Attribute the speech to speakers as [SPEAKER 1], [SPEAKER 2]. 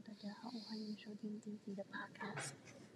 [SPEAKER 1] 大家好，欢迎收听第一集的 Podcast。